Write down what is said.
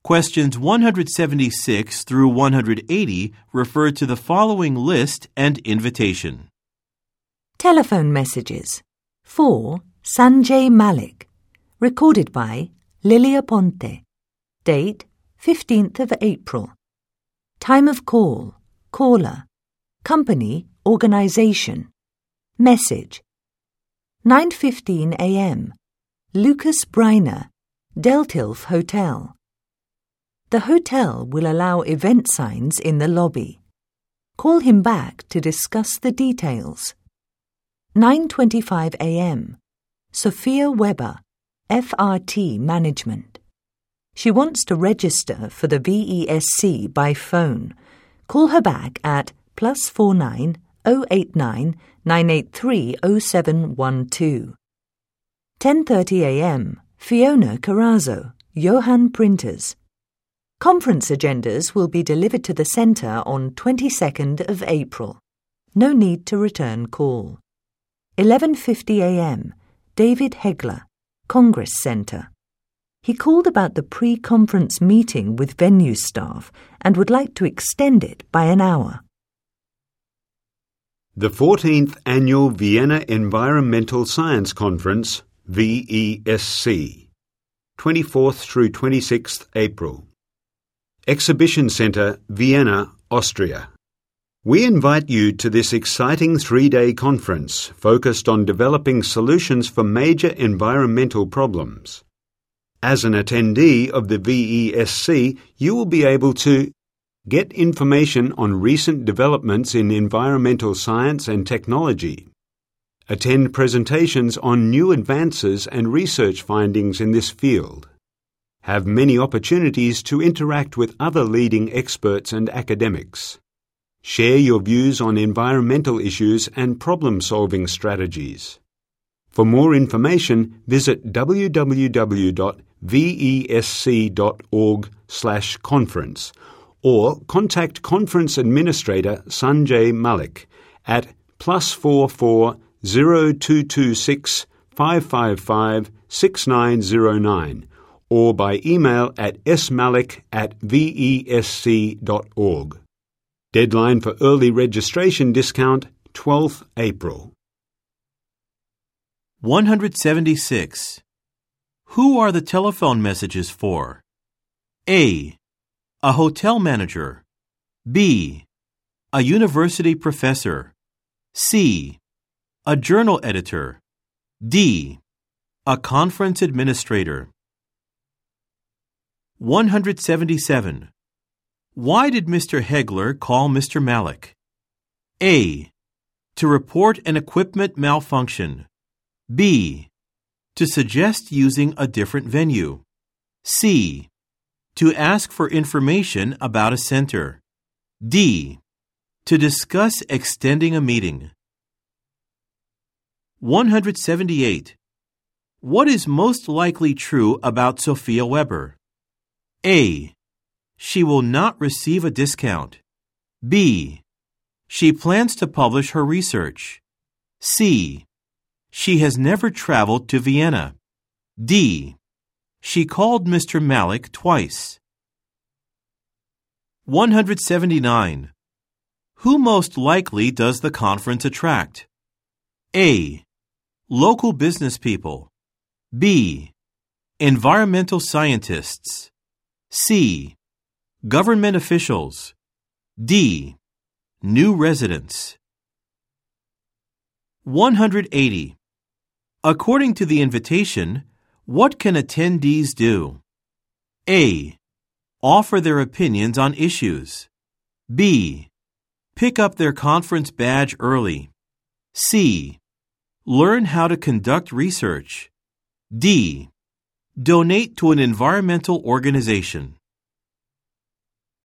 Questions 176 through 180 refer to the following list and invitation. Telephone messages. 4. Sanjay Malik. Recorded by Lilia Ponte. Date 15th of April. Time of call. Caller. Company, organization. Message. 9:15 a.m. Lucas Briner, Deltilf Hotel. The hotel will allow event signs in the lobby. Call him back to discuss the details. 9:25 a.m. Sophia Weber, FRT Management. She wants to register for the VESC by phone. Call her back at +49 089 983 0712. 10:30 a.m. Fiona Carrazzo, Johan Printers. Conference agendas will be delivered to the centre on 22nd of April. No need to return call. 11:50 a.m. David Hegler, Congress Centre. He called about the pre-conference meeting with venue staff and would like to extend it by an hour. The 14th Annual Vienna Environmental Science Conference, VESC, 24th through 26th April. Exhibition Centre, Vienna, Austria. We invite you to this exciting 3-day conference focused on developing solutions for major environmental problems. As an attendee of the VESC, you will be able to get information on recent developments in environmental science and technology, attend presentations on new advances and research findings in this field, have many opportunities to interact with other leading experts and academics, share your views on environmental issues and problem-solving strategies. For more information, visit www.vesc.org/conference or contact Conference Administrator Sanjay Malik at +44 0226 555 6909 or by email at smalik@vesc.org. Deadline for early registration discount 12th April. 176. Who are the telephone messages for? A. A hotel manager. B. A university professor. C. A journal editor. D. A conference administrator. 177. Why did Mr. Hegler call Mr. Malik? A. To report an equipment malfunction. B. To suggest using a different venue. C. To ask for information about a center. D. To discuss extending a meeting. 178. What is most likely true about Sophia Weber? A. She will not receive a discount. B. She plans to publish her research. C. She has never traveled to Vienna. D. She called Mr. Malik twice. 179. Who most likely does the conference attract? A. Local business people. B. Environmental scientists. C. Government officials. D. New residents. 180. According to the invitation, what can attendees do? A. Offer their opinions on issues. B. Pick up their conference badge early. C. Learn how to conduct research. D. Donate to an environmental organization.